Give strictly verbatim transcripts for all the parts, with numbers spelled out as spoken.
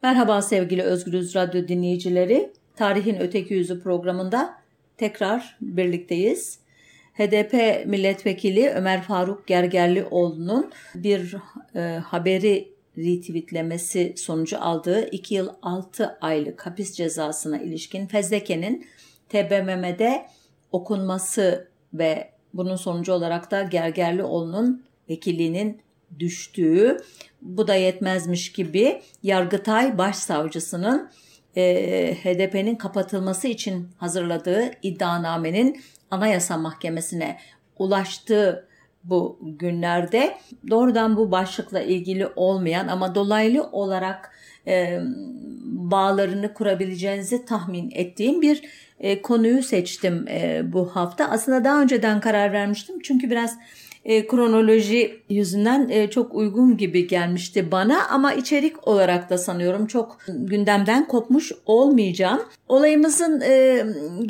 Merhaba sevgili Özgürüz Radyo dinleyicileri. Tarihin Öteki Yüzü programında tekrar birlikteyiz. H D P milletvekili Ömer Faruk Gergerlioğlu'nun bir e, haberi retweetlemesi sonucu aldığı iki yıl altı aylık hapis cezasına ilişkin fezlekenin T B M M'de okunması ve bunun sonucu olarak da Gergerlioğlu'nun vekilliğinin düştüğü, bu da yetmezmiş gibi Yargıtay Başsavcısının e, H D P'nin kapatılması için hazırladığı iddianamenin Anayasa Mahkemesi'ne ulaştığı bu günlerde doğrudan bu başlıkla ilgili olmayan ama dolaylı olarak e, bağlarını kurabileceğinizi tahmin ettiğim bir e, konuyu seçtim e, bu hafta. Aslında daha önceden karar vermiştim çünkü biraz E, kronoloji yüzünden e, çok uygun gibi gelmişti bana ama içerik olarak da sanıyorum çok gündemden kopmuş olmayacağım. Olayımızın e,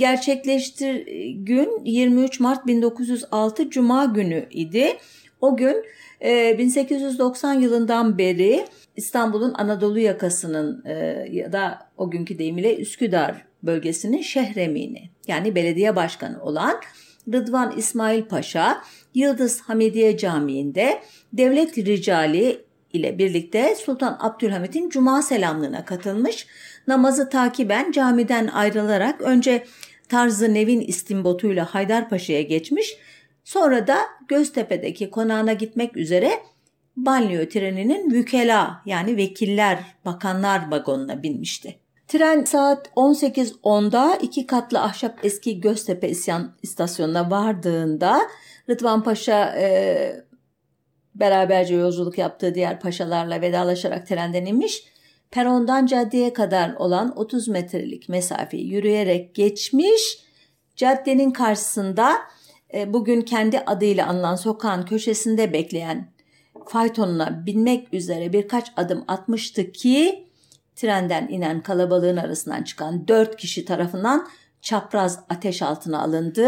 gerçekleştiği gün yirmi üç Mart bin dokuz yüz altı Cuma günü idi. O gün e, bin sekiz yüz doksan yılından beri İstanbul'un Anadolu yakasının e, ya da o günkü deyimiyle Üsküdar bölgesinin şehremini yani belediye başkanı olan Rıdvan İsmail Paşa Yıldız Hamidiye Camii'nde devlet ricali ile birlikte Sultan Abdülhamit'in Cuma selamlığına katılmış. Namazı takiben camiden ayrılarak önce Tarz-ı Nevin istimbotuyla Haydarpaşa'ya geçmiş. Sonra da Göztepe'deki konağına gitmek üzere banliyö treninin vükela yani vekiller, bakanlar vagonuna binmişti. Tren saat on sekiz onda iki katlı ahşap eski Göztepe isyan istasyonuna vardığında Rıdvan Paşa e, beraberce yolculuk yaptığı diğer paşalarla vedalaşarak trenden inmiş. Perondan caddeye kadar olan otuz metrelik mesafeyi yürüyerek geçmiş. Caddenin karşısında e, bugün kendi adıyla anılan sokağın köşesinde bekleyen faytonuna binmek üzere birkaç adım atmıştı ki trenden inen kalabalığın arasından çıkan dört kişi tarafından çapraz ateş altına alındı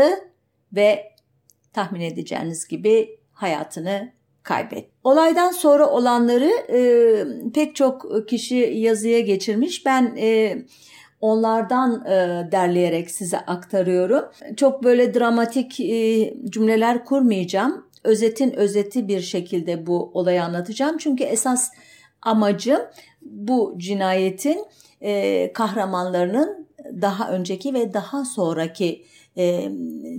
ve tahmin edeceğiniz gibi hayatını kaybetti. Olaydan sonra olanları e, pek çok kişi yazıya geçirmiş. Ben e, onlardan e, derleyerek size aktarıyorum. Çok böyle dramatik e, cümleler kurmayacağım. Özetin özeti bir şekilde bu olayı anlatacağım. Çünkü esas amacım bu cinayetin e, kahramanlarının daha önceki ve daha sonraki e,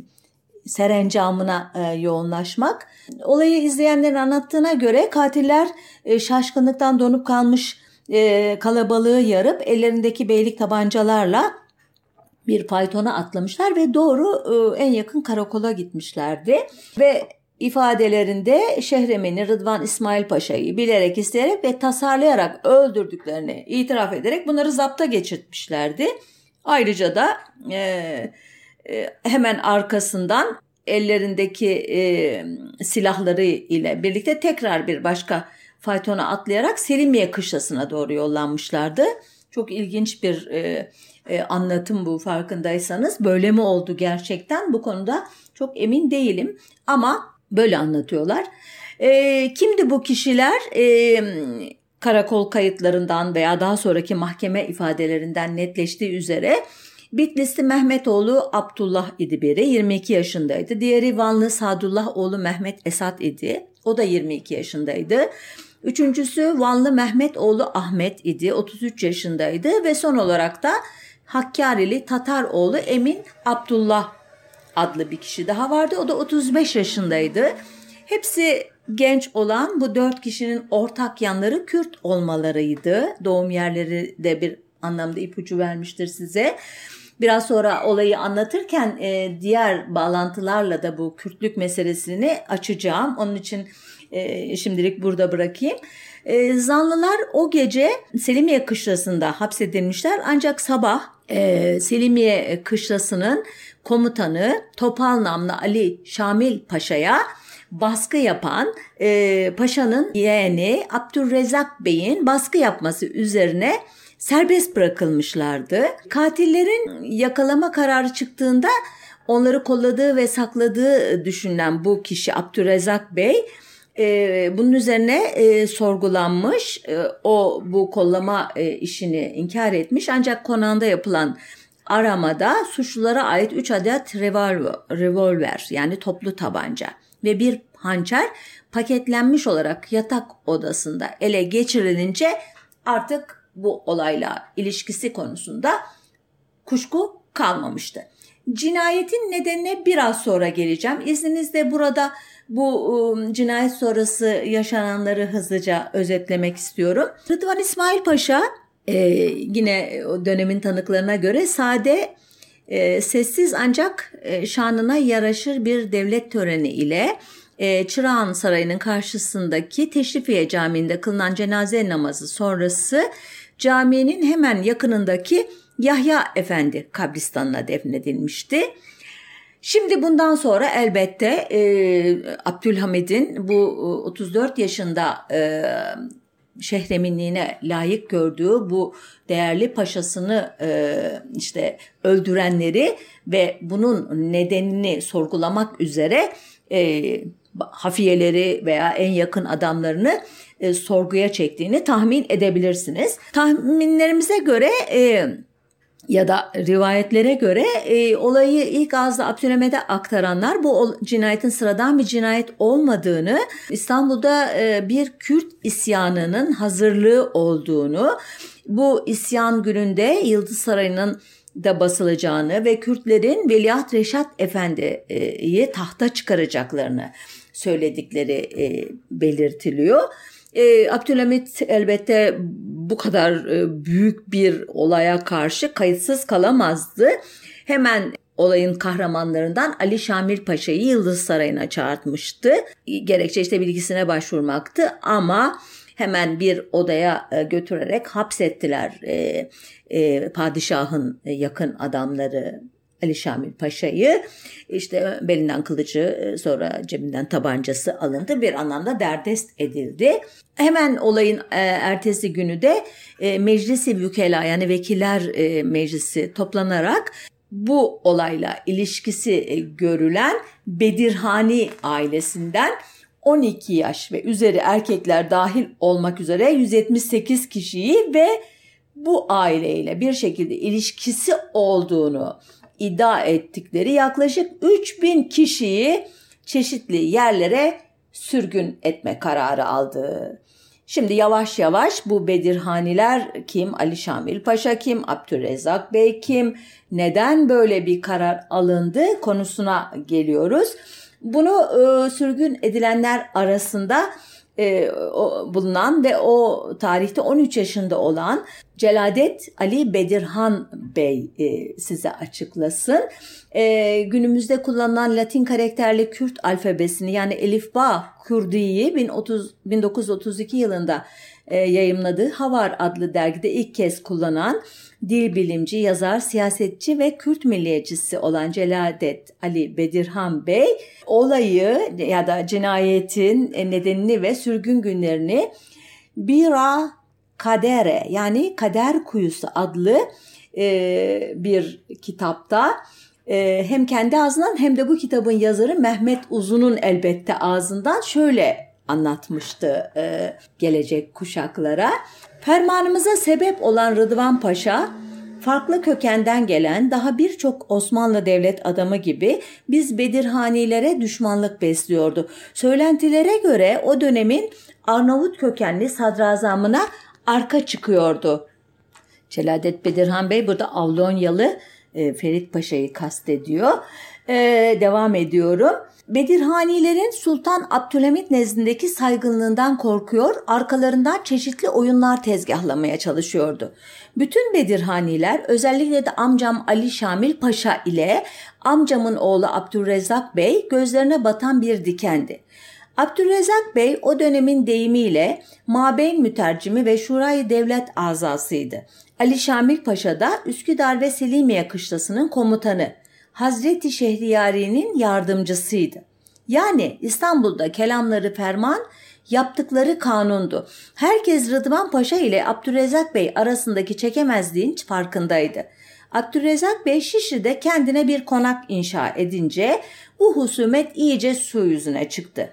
serencamına e, yoğunlaşmak. Olayı izleyenlerin anlattığına göre katiller e, şaşkınlıktan donup kalmış e, kalabalığı yarıp ellerindeki beylik tabancalarla bir faytona atlamışlar ve doğru e, en yakın karakola gitmişlerdi. Ve ifadelerinde Şehremeni Rıdvan İsmail Paşa'yı bilerek, isteyerek ve tasarlayarak öldürdüklerini itiraf ederek bunları zapta geçirtmişlerdi. Ayrıca da e, e, hemen arkasından ellerindeki e, silahları ile birlikte tekrar bir başka faytona atlayarak Selimiye kışlasına doğru yollanmışlardı. Çok ilginç bir e, e, anlatım bu, farkındaysanız. Böyle mi oldu gerçekten? Bu konuda çok emin değilim ama böyle anlatıyorlar. E, kimdi bu kişiler? E, karakol kayıtlarından veya daha sonraki mahkeme ifadelerinden netleştiği üzere Bitlisli Mehmetoğlu Abdullah idi biri, yirmi iki yaşındaydı. Diğeri Vanlı Sadullah oğlu Mehmet Esat idi. O da yirmi iki yaşındaydı. Üçüncüsü Vanlı Mehmet oğlu Ahmet idi. otuz üç yaşındaydı ve son olarak da Hakkarili Tatar oğlu Emin Abdullah adlı bir kişi daha vardı. O da otuz beş yaşındaydı. Hepsi genç olan bu dört kişinin ortak yanları Kürt olmalarıydı. Doğum yerleri de bir anlamda ipucu vermiştir size. Biraz sonra olayı anlatırken e, diğer bağlantılarla da bu Kürtlük meselesini açacağım. Onun için e, şimdilik burada bırakayım. E, zanlılar o gece Selimiye kışlasında hapsedilmişler. Ancak sabah e, Selimiye kışlasının komutanı Topal namlı Ali Şamil Paşa'ya baskı yapan e, paşanın yeğeni Abdurrezzak Bey'in baskı yapması üzerine serbest bırakılmışlardı. Katillerin yakalama kararı çıktığında onları kolladığı ve sakladığı düşünülen bu kişi Abdurrezzak Bey E, bunun üzerine e, sorgulanmış. E, o bu kollama e, işini inkar etmiş. Ancak konağında yapılan aramada suçlulara ait üç adet revolver, revolver yani toplu tabanca ve bir hançer paketlenmiş olarak yatak odasında ele geçirilince artık bu olayla ilişkisi konusunda kuşku kalmamıştı. Cinayetin nedenine biraz sonra geleceğim. İzninizle burada bu ıı, cinayet sonrası yaşananları hızlıca özetlemek istiyorum. Rıdvan İsmail Paşa e, yine o dönemin tanıklarına göre sade, e, sessiz ancak e, şanına yaraşır bir devlet töreni ile e, Çırağan Sarayı'nın karşısındaki Teşrifiye Camii'nde kılınan cenaze namazı sonrası caminin hemen yakınındaki Yahya Efendi kabristanına defnedilmişti. Şimdi bundan sonra elbette e, Abdülhamid'in bu otuz dört yaşında e, şehreminliğine layık gördüğü bu değerli paşasını e, işte öldürenleri ve bunun nedenini sorgulamak üzere e, hafiyeleri veya en yakın adamlarını e, sorguya çektiğini tahmin edebilirsiniz. Tahminlerimize göre e, ya da rivayetlere göre e, olayı ilk ağızda Abdülhamid'e aktaranlar bu cinayetin sıradan bir cinayet olmadığını, İstanbul'da e, bir Kürt isyanının hazırlığı olduğunu, bu isyan gününde Yıldız Sarayı'nın da basılacağını ve Kürtlerin Veliaht Reşat Efendi'yi tahta çıkaracaklarını söyledikleri e, belirtiliyor. E, Abdülhamid elbette bu kadar e, büyük bir olaya karşı kayıtsız kalamazdı. Hemen olayın kahramanlarından Ali Şamil Paşa'yı Yıldız Sarayı'na çağırtmıştı. Gerekçe işte bilgisine başvurmaktı ama hemen bir odaya e, götürerek hapsettiler e, e, padişahın yakın adamları Ali Şamil Paşa'yı. İşte belinden kılıcı, sonra cebinden tabancası alındı. Bir anlamda derdest edildi. Hemen olayın e, ertesi günü de e, Meclis-i Vükela yani Vekiller e, Meclisi toplanarak bu olayla ilişkisi e, görülen Bedirhani ailesinden on iki yaş ve üzeri erkekler dahil olmak üzere yüz yetmiş sekiz kişiyi ve bu aileyle bir şekilde ilişkisi olduğunu iddia ettikleri yaklaşık üç bin kişiyi çeşitli yerlere sürgün etme kararı aldı. Şimdi yavaş yavaş bu Bedirhaniler kim, Ali Şamil Paşa kim, Abdülrezzak Bey kim, neden böyle bir karar alındı konusuna geliyoruz. Bunu e, sürgün edilenler arasında e, o, bulunan ve o tarihte on üç yaşında olan Celadet Ali Bedirhan Bey e, size açıklasın. E, günümüzde kullanılan Latin karakterli Kürt alfabesini yani Elifba Kürdi'yi bin dokuz yüz otuz iki yılında e, yayımladığı Havar adlı dergide ilk kez kullanan dil bilimci, yazar, siyasetçi ve Kürt milliyetçisi olan Celadet Ali Bedirhan Bey olayı ya da cinayetin nedenini ve sürgün günlerini Bira Kadere yani Kader Kuyusu adlı e, bir kitapta e, hem kendi ağzından hem de bu kitabın yazarı Mehmet Uzun'un elbette ağzından şöyle anlatmıştı e, gelecek kuşaklara. Fermanımıza sebep olan Rıdvan Paşa, farklı kökenden gelen daha birçok Osmanlı devlet adamı gibi biz Bedirhanilere düşmanlık besliyordu. Söylentilere göre o dönemin Arnavut kökenli sadrazamına arka çıkıyordu. Celadet Bedirhan Bey burada Avlonyalı e, Ferit Paşa'yı kastediyor. E, devam ediyorum. Bedirhanilerin Sultan Abdülhamid nezdindeki saygınlığından korkuyor, arkalarından çeşitli oyunlar tezgahlamaya çalışıyordu. Bütün Bedirhaniler özellikle de amcam Ali Şamil Paşa ile amcamın oğlu Abdülrezzak Bey gözlerine batan bir dikendi. Abdülrezzak Bey o dönemin deyimiyle Mabeyn mütercimi ve Şurayı Devlet azasıydı. Ali Şamil Paşa da Üsküdar ve Selimiye kışlasının komutanı. Hazreti Şehriyari'nin yardımcısıydı. Yani İstanbul'da kelamları ferman, yaptıkları kanundu. Herkes Rıdvan Paşa ile Abdülrezzak Bey arasındaki çekemezliğin farkındaydı. Abdülrezzak Bey Şişli'de kendine bir konak inşa edince bu husumet iyice su yüzüne çıktı.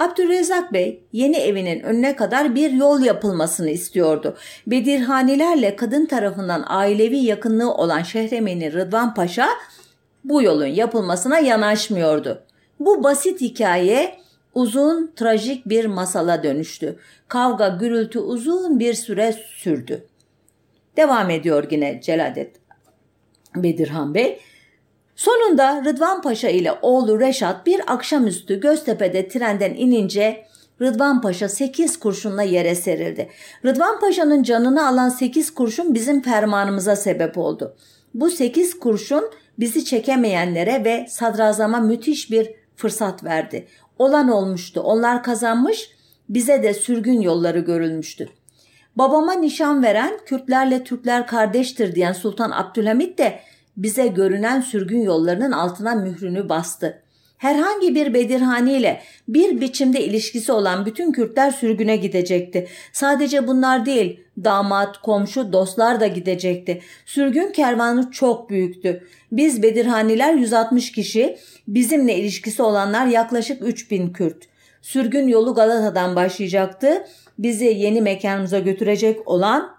Abdülrezzak Bey yeni evinin önüne kadar bir yol yapılmasını istiyordu. Bedirhanilerle kadın tarafından ailevi yakınlığı olan Şehremeni Rıdvan Paşa bu yolun yapılmasına yanaşmıyordu. Bu basit hikaye uzun, trajik bir masala dönüştü. Kavga, gürültü uzun bir süre sürdü. Devam ediyor yine Celadet Bedirhan Bey. Sonunda Rıdvan Paşa ile oğlu Reşat bir akşamüstü Göztepe'de trenden inince Rıdvan Paşa sekiz kurşunla yere serildi. Rıdvan Paşa'nın canını alan sekiz kurşun bizim fermanımıza sebep oldu. Bu sekiz kurşun bizi çekemeyenlere ve sadrazama müthiş bir fırsat verdi. Olan olmuştu. Onlar kazanmış, bize de sürgün yolları görülmüştü. Babama nişan veren, Kürtlerle Türkler kardeştir diyen Sultan Abdülhamit de bize görünen sürgün yollarının altına mührünü bastı. Herhangi bir Bedirhani ile bir biçimde ilişkisi olan bütün Kürtler sürgüne gidecekti. Sadece bunlar değil, damat, komşu, dostlar da gidecekti. Sürgün kervanı çok büyüktü. Biz Bedirhaniler yüz altmış kişi, bizimle ilişkisi olanlar yaklaşık üç bin Kürt. Sürgün yolu Galata'dan başlayacaktı. Bizi yeni mekanımıza götürecek olan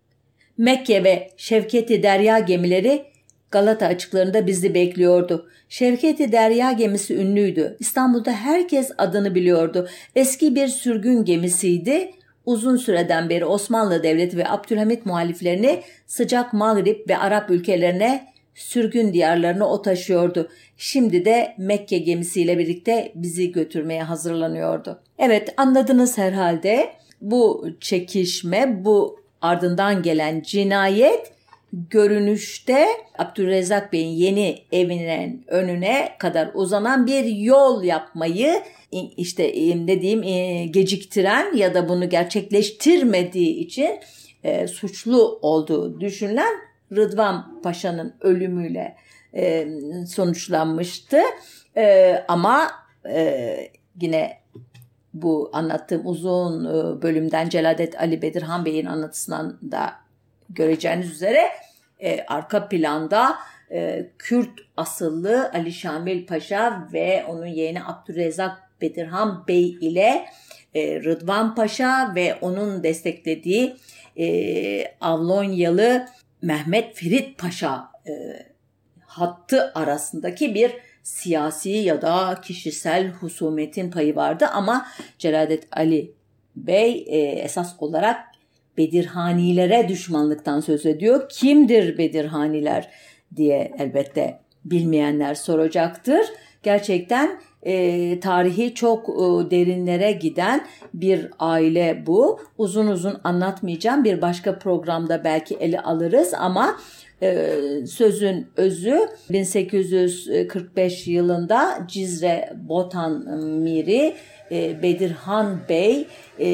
Mekke ve Şevketi Derya gemileri Galata açıklarında bizi bekliyordu. Şevketi Derya gemisi ünlüydü. İstanbul'da herkes adını biliyordu. Eski bir sürgün gemisiydi. Uzun süreden beri Osmanlı Devleti ve Abdülhamit muhaliflerini sıcak Mağrip ve Arap ülkelerine, sürgün diyarlarına o taşıyordu. Şimdi de Mekke gemisiyle birlikte bizi götürmeye hazırlanıyordu. Evet, anladınız herhalde. Bu çekişme, bu ardından gelen cinayet görünüşte Abdülrezzak Bey'in yeni evinin önüne kadar uzanan bir yol yapmayı işte dediğim geciktiren ya da bunu gerçekleştirmediği için e, suçlu olduğu düşünülen Rıdvan Paşa'nın ölümüyle e, sonuçlanmıştı. E, ama e, yine bu anlattığım uzun bölümden Celadet Ali Bedirhan Bey'in anlatısından da göreceğiniz üzere e, arka planda e, Kürt asıllı Ali Şamil Paşa ve onun yeğeni Abdülrezzak Bedirhan Bey ile e, Rıdvan Paşa ve onun desteklediği e, Avlonyalı Mehmet Ferit Paşa e, hattı arasındaki bir siyasi ya da kişisel husumetin payı vardı ama Celadet Ali Bey e, esas olarak Bedirhanilere düşmanlıktan söz ediyor. Kimdir Bedirhaniler diye elbette bilmeyenler soracaktır. Gerçekten e, tarihi çok e, derinlere giden bir aile bu. Uzun uzun anlatmayacağım. Bir başka programda belki ele alırız ama e, sözün özü bin sekiz yüz kırk beş yılında Cizre Botan Miri e, Bedirhan Bey e,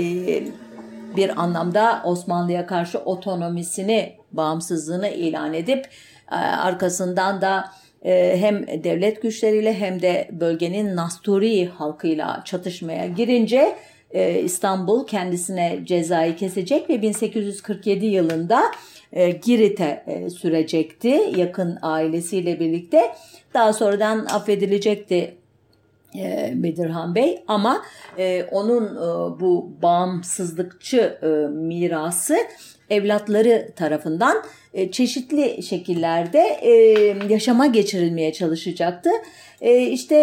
bir anlamda Osmanlı'ya karşı otonomisini, bağımsızlığını ilan edip arkasından da hem devlet güçleriyle hem de bölgenin Nasturi halkıyla çatışmaya girince İstanbul kendisine cezayı kesecek ve bin sekiz yüz kırk yedi yılında Girit'e sürecekti yakın ailesiyle birlikte. Daha sonradan affedilecekti Bedirhan Bey ama e, onun e, bu bağımsızlıkçı e, mirası evlatları tarafından e, çeşitli şekillerde e, yaşama geçirilmeye çalışacaktı. E, işte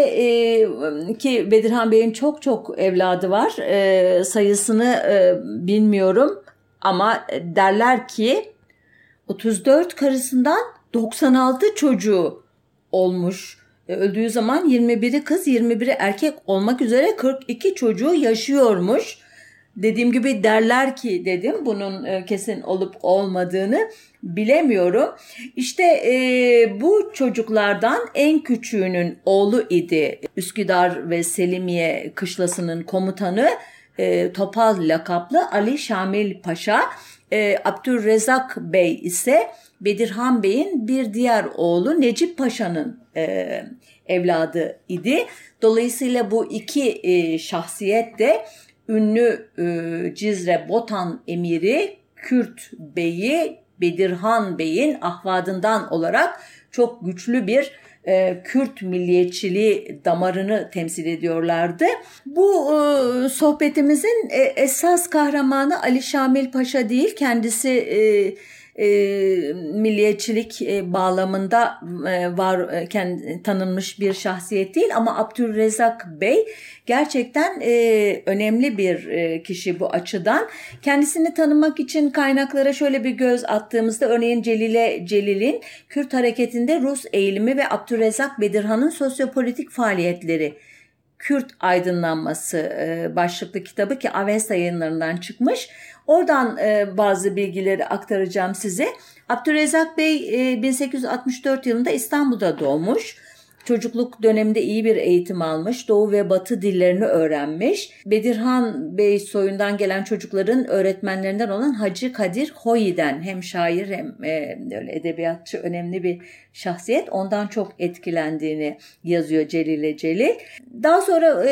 e, ki Bedirhan Bey'in çok çok evladı var. E, sayısını e, bilmiyorum ama derler ki otuz dört karısından doksan altı çocuğu olmuş. Öldüğü zaman yirmi biri kız, yirmi biri erkek olmak üzere kırk iki çocuğu yaşıyormuş. Dediğim gibi derler ki dedim, bunun kesin olup olmadığını bilemiyorum. İşte e, bu çocuklardan en küçüğünün oğlu idi. Üsküdar ve Selimiye kışlasının komutanı e, Topal lakaplı Ali Şamil Paşa. E, Abdülrezzak Bey ise Bedirhan Bey'in bir diğer oğlu Necip Paşa'nın e, evladı idi. Dolayısıyla bu iki e, şahsiyet de ünlü e, Cizre Botan emiri Kürt Bey'i Bedirhan Bey'in ahvadından olarak çok güçlü bir e, Kürt milliyetçiliği damarını temsil ediyorlardı. Bu e, sohbetimizin e, esas kahramanı Ali Şamil Paşa değil, kendisi e, E, milliyetçilik e, bağlamında e, var e, kendi, tanınmış bir şahsiyet değil, ama Abdülrezzak Bey gerçekten e, önemli bir e, kişi bu açıdan. Kendisini tanımak için kaynaklara şöyle bir göz attığımızda, örneğin Celile Celil'in Kürt hareketinde Rus eğilimi ve Abdülrezzak Bedirhan'ın sosyopolitik faaliyetleri, Kürt aydınlanması e, başlıklı kitabı, ki Avesta yayınlarından çıkmış. Oradan e, bazı bilgileri aktaracağım size. Abdülrezzak Bey e, bin sekiz yüz altmış dört yılında İstanbul'da doğmuş. Çocukluk döneminde iyi bir eğitim almış. Doğu ve Batı dillerini öğrenmiş. Bedirhan Bey soyundan gelen çocukların öğretmenlerinden olan Hacı Kadir Hoyi'den, hem şair hem e, öyle edebiyatçı, önemli bir şahsiyet. Ondan çok etkilendiğini yazıyor Celile Celil. Daha sonra e,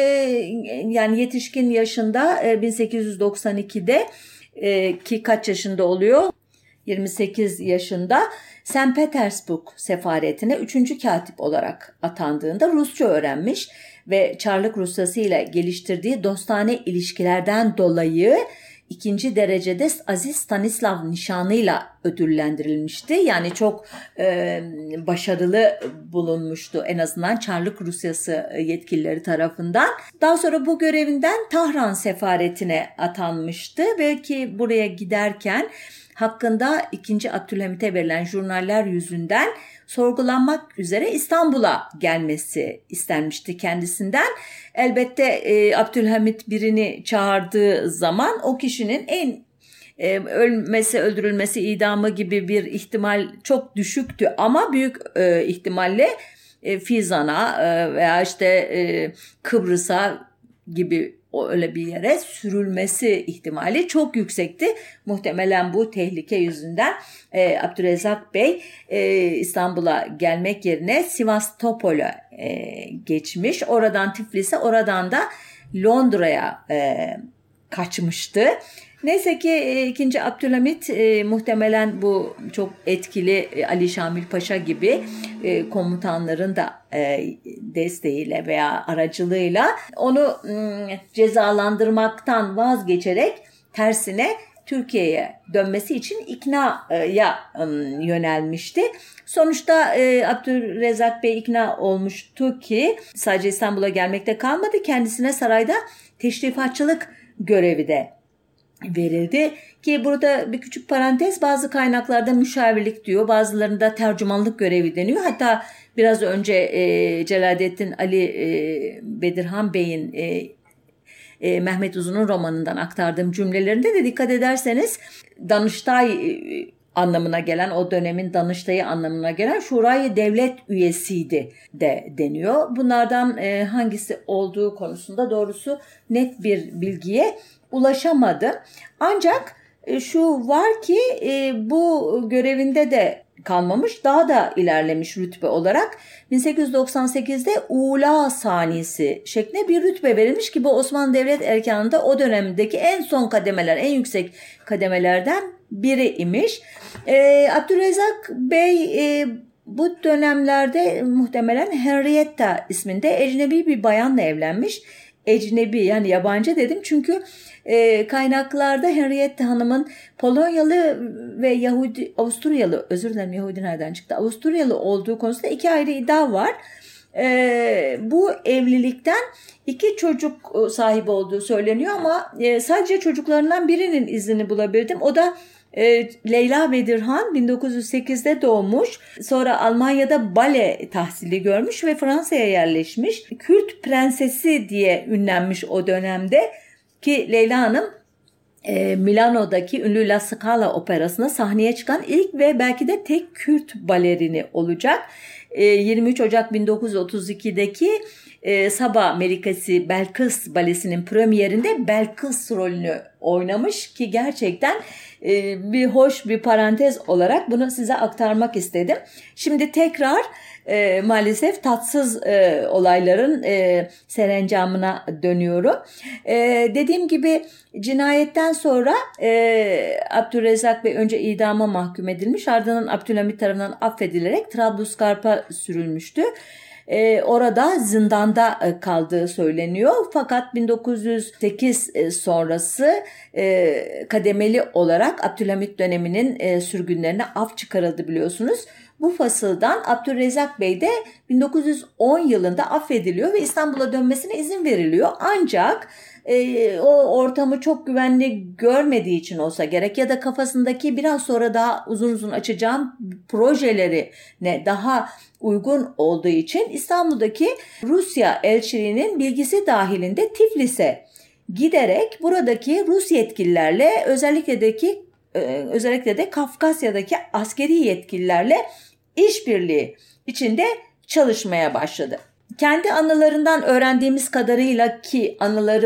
yani yetişkin yaşında e, bin sekiz yüz doksan ikide e, ki kaç yaşında oluyor? yirmi sekiz yaşında Sankt Petersburg sefaretine üçüncü katip olarak atandığında Rusça öğrenmiş ve Çarlık Rusyası ile geliştirdiği dostane ilişkilerden dolayı ikinci derecede Aziz Stanislav nişanıyla ödüllendirilmişti. Yani çok e, başarılı bulunmuştu en azından Çarlık Rusyası yetkilileri tarafından. Daha sonra bu görevinden Tahran sefaretine atanmıştı ve ki buraya giderken hakkında ikinci. Abdülhamit'e verilen jurnaller yüzünden sorgulanmak üzere İstanbul'a gelmesi istenmişti kendisinden. Elbette e, Abdülhamit birini çağırdığı zaman o kişinin en e, ölmesi, öldürülmesi, idamı gibi bir ihtimal çok düşüktü, ama büyük e, ihtimalle e, Fizan'a e, veya işte e, Kıbrıs'a gibi o öyle bir yere sürülmesi ihtimali çok yüksekti. Muhtemelen bu tehlike yüzünden e, Abdülrezzak Bey e, İstanbul'a gelmek yerine Sivastopol'a e, geçmiş. Oradan Tiflis'e, oradan da Londra'ya e, kaçmıştı. Neyse ki e, ikinci. Abdülhamit e, muhtemelen bu çok etkili e, Ali Şamil Paşa gibi e, komutanların da e, desteğiyle veya aracılığıyla onu e, cezalandırmaktan vazgeçerek tersine Türkiye'ye dönmesi için iknaya e, yönelmişti. Sonuçta e, Abdülrezzak Bey ikna olmuştu ki sadece İstanbul'a gelmekte kalmadı, kendisine sarayda teşrifatçılık görevi de verildi. Ki burada bir küçük parantez, bazı kaynaklarda müşavirlik diyor, bazılarında tercümanlık görevi deniyor. Hatta biraz önce e, Celaleddin Ali e, Bedirhan Bey'in e, e, Mehmet Uzun'un romanından aktardığım cümlelerinde de dikkat ederseniz Danıştay e, anlamına gelen, o dönemin Danıştay'ı anlamına gelen Şurayı Devlet üyesiydi de deniyor. Bunlardan e, hangisi olduğu konusunda doğrusu net bir bilgiye ulaşamadı. Ancak e, şu var ki e, bu görevinde de kalmamış, daha da ilerlemiş rütbe olarak. bin sekiz yüz doksan sekizde Ula Sanisi şeklinde bir rütbe verilmiş ki bu Osmanlı Devlet erkanında o dönemdeki en son kademeler, en yüksek kademelerden biri imiş. E, Abdülrezzak Bey e, bu dönemlerde muhtemelen Henrietta isminde ecnebi bir bayanla evlenmiş. Ecnebi yani yabancı dedim çünkü e, kaynaklarda Henrietta Hanım'ın Polonyalı ve Yahudi, Avusturyalı, özür dilerim Yahudi nereden çıktı, Avusturyalı olduğu konusunda iki ayrı iddia var. E, bu evlilikten iki çocuk sahibi olduğu söyleniyor, ama e, sadece çocuklarından birinin izini bulabildim. O da E, Leyla Bedirhan bin dokuz yüz sekizde doğmuş. Sonra Almanya'da bale tahsili görmüş ve Fransa'ya yerleşmiş. Kürt prensesi diye ünlenmiş o dönemde ki Leyla Hanım e, Milano'daki ünlü La Scala operasına sahneye çıkan ilk ve belki de tek Kürt balerini olacak. yirmi üç Ocak bin dokuz yüz otuz ikideki Sabah Melikesi Belkıs Balesi'nin premierinde Belkıs rolünü oynamış ki gerçekten bir hoş bir parantez olarak bunu size aktarmak istedim. Şimdi tekrar E, maalesef tatsız e, olayların e, serencamına dönüyorum. E, dediğim gibi cinayetten sonra e, Abdülrezzak Bey önce idama mahkum edilmiş, ardından Abdülhamit tarafından affedilerek Trablusgarp'a sürülmüştü. Ee, orada zindanda kaldığı söyleniyor. Fakat bin dokuz yüz sekiz sonrası e, kademeli olarak Abdülhamit döneminin e, sürgünlerine af çıkarıldı biliyorsunuz. Bu fasıldan Abdülrezzak Bey de bin dokuz yüz on yılında affediliyor ve İstanbul'a dönmesine izin veriliyor. Ancak e, o ortamı çok güvenli görmediği için olsa gerek ya da kafasındaki biraz sonra daha uzun uzun açacağım projeleri ne daha uygun olduğu için İstanbul'daki Rusya elçiliğinin bilgisi dahilinde Tiflis'e giderek buradaki Rus yetkililerle özellikle de ki özellikle de Kafkasya'daki askeri yetkililerle işbirliği içinde çalışmaya başladı. Kendi anılarından öğrendiğimiz kadarıyla ki anıları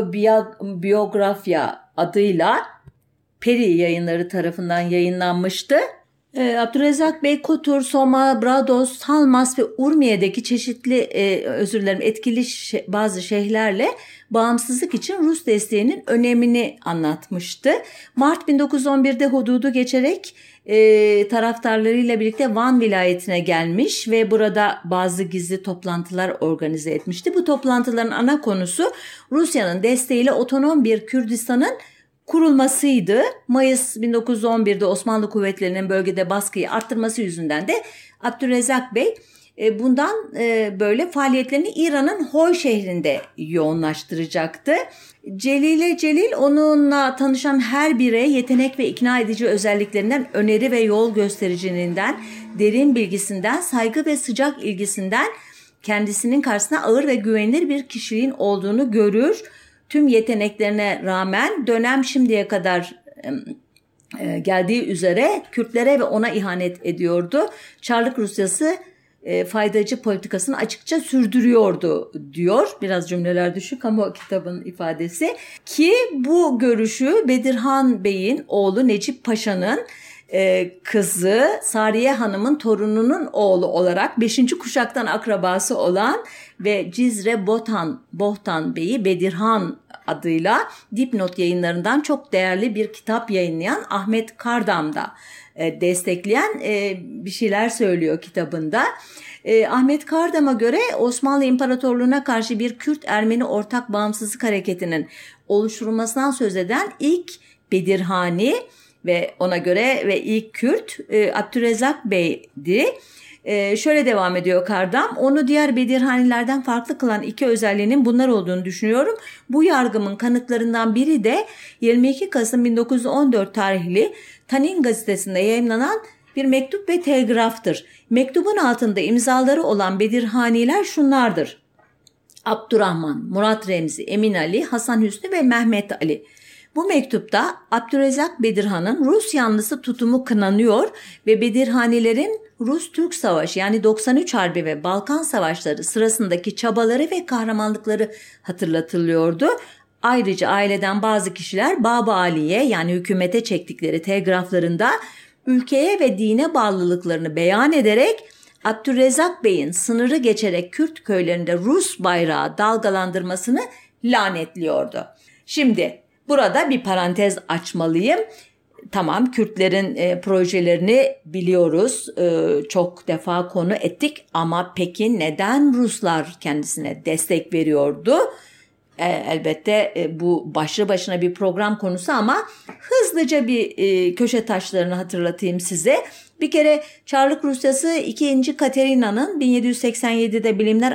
otobiyografya adıyla Peri Yayınları tarafından yayınlanmıştı. Ee, Abdülrezzak Bey Kotur, Soma, Brados, Talmas ve Urmiye'deki çeşitli e, özür dilerim etkili şe- bazı şeyhlerle bağımsızlık için Rus desteğinin önemini anlatmıştı. Mart bin dokuz yüz on birde hududu geçerek e, taraftarlarıyla birlikte Van vilayetine gelmiş ve burada bazı gizli toplantılar organize etmişti. Bu toplantıların ana konusu Rusya'nın desteğiyle otonom bir Kürdistan'ın kurulmasıydı. Mayıs bin dokuz yüz on birde Osmanlı kuvvetlerinin bölgede baskıyı arttırması yüzünden de Abdülrezzak Bey bundan böyle faaliyetlerini İran'ın Hoy şehrinde yoğunlaştıracaktı. Celile Celil onunla tanışan her bireye yetenek ve ikna edici özelliklerinden, öneri ve yol göstericiliğinden, derin bilgisinden, saygı ve sıcak ilgisinden kendisinin karşısına ağır ve güvenilir bir kişiliğin olduğunu görür. Tüm yeteneklerine rağmen dönem şimdiye kadar e, geldiği üzere Kürtlere ve ona ihanet ediyordu. Çarlık Rusyası e, faydacı politikasını açıkça sürdürüyordu diyor. Biraz cümleler düşük ama o kitabın ifadesi. Ki bu görüşü Bedirhan Bey'in oğlu Necip Paşa'nın e, kızı Sariye Hanım'ın torununun oğlu olarak beşinci kuşaktan akrabası olan ve Cizre Botan, Bohtan Bey'i Bedirhan adıyla Dipnot Yayınlarından çok değerli bir kitap yayınlayan Ahmet Kardam da e, destekleyen e, bir şeyler söylüyor kitabında. E, Ahmet Kardam'a göre Osmanlı İmparatorluğu'na karşı bir Kürt-Ermeni ortak bağımsızlık hareketinin oluşturulmasından söz eden ilk Bedirhani ve ona göre ve ilk Kürt e, Abdülrezzak Bey'di. Ee, şöyle devam ediyor Kardam. Onu diğer Bedirhanilerden farklı kılan iki özelliğinin bunlar olduğunu düşünüyorum. Bu yargımın kanıtlarından biri de yirmi iki Kasım bin dokuz yüz on dört tarihli Tanin gazetesinde yayınlanan bir mektup ve telgraftır. Mektubun altında imzaları olan Bedirhaniler şunlardır: Abdurrahman, Murat Remzi, Emin Ali, Hasan Hüsnü ve Mehmet Ali. Bu mektupta Abdülrezzak Bedirhan'ın Rus yanlısı tutumu kınanıyor ve Bedirhanilerin Rus-Türk Savaşı yani doksan üç Harbi ve Balkan Savaşları sırasındaki çabaları ve kahramanlıkları hatırlatılıyordu. Ayrıca aileden bazı kişiler Baba Ali'ye yani hükümete çektikleri telgraflarında ülkeye ve dine bağlılıklarını beyan ederek Abdülrezzak Bey'in sınırı geçerek Kürt köylerinde Rus bayrağı dalgalandırmasını lanetliyordu. Şimdi burada bir parantez açmalıyım. Tamam, Kürtlerin e, projelerini biliyoruz, e, çok defa konu ettik ama peki neden Ruslar kendisine destek veriyordu? E, elbette e, bu başlı başına bir program konusu ama hızlıca bir e, köşe taşlarını hatırlatayım size. Bir kere Çarlık Rusyası ikinci. Katerina'nın bin yedi yüz seksen yedide Bilimler